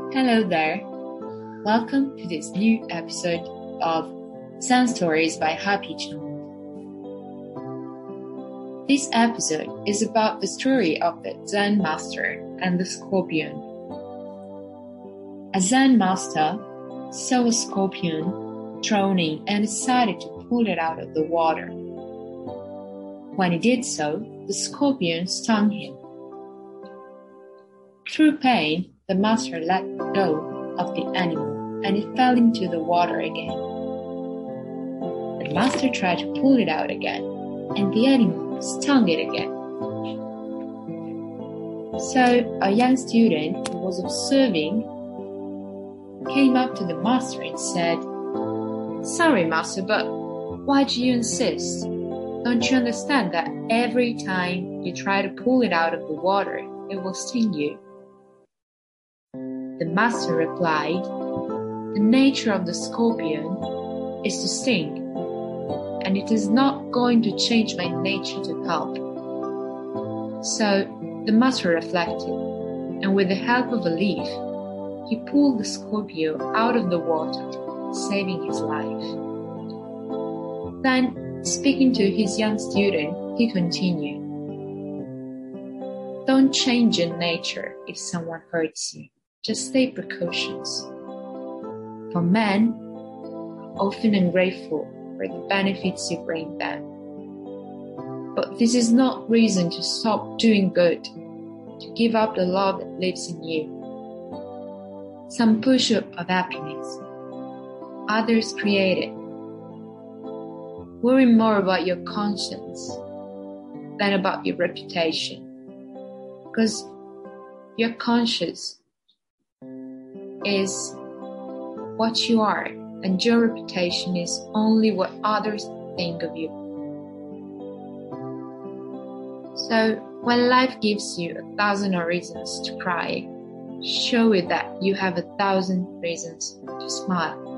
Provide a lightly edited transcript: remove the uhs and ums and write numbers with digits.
Hello there. Welcome to this new episode of Zen Stories by Happy Chun. This episode is about the story of the Zen master and the scorpion. A Zen master saw a scorpion drowning and decided to pull it out of the water. When he did so, the scorpion stung him. Through pain, the master let go of the animal and it fell into the water again. The master tried to pull it out again and the animal stung it again. So a young student who was observing came up to the master and said, "Sorry, master, but why do you insist? Don't you understand that every time you try to pull it out of the water, it will sting you?" The master replied, "The nature of the scorpion is to sting, and it is not going to change my nature to help." So the master reflected, and with the help of a leaf, he pulled the scorpion out of the water, saving his life. Then, speaking to his young student, he continued, "Don't change your nature if someone hurts you. Just take precautions. For men are often ungrateful for the benefits you bring them. But this is not reason to stop doing good, to give up the love that lives in you. Some pursuit of happiness, others create it. Worry more about your conscience than about your reputation, because your conscience is what you are, and your reputation is only what others think of you." So, when life gives you 1,000 reasons to cry, show it that you have 1,000 reasons to smile.